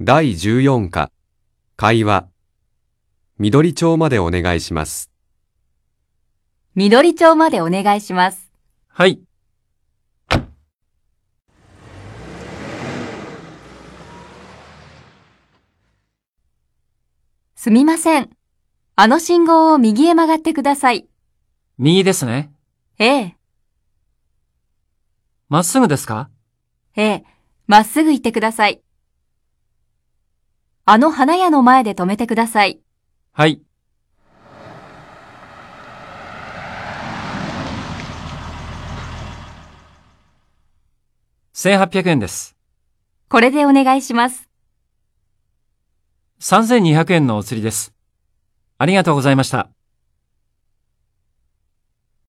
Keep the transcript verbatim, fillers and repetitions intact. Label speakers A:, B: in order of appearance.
A: だいじゅうよん課、会話。緑町までお願いします。
B: 緑町までお願いします。
C: はい。
B: すみません。あの信号を右へ曲がってください。
C: 右ですね。
B: ええ、
C: まっすぐですか？
B: ええ、まっすぐ行ってください。あの花屋の前で止めてください。
C: はい。せんはっぴゃくえんです。
B: これでお願いします。
C: さんぜんにひゃくえんのお釣りです。ありがとうございました。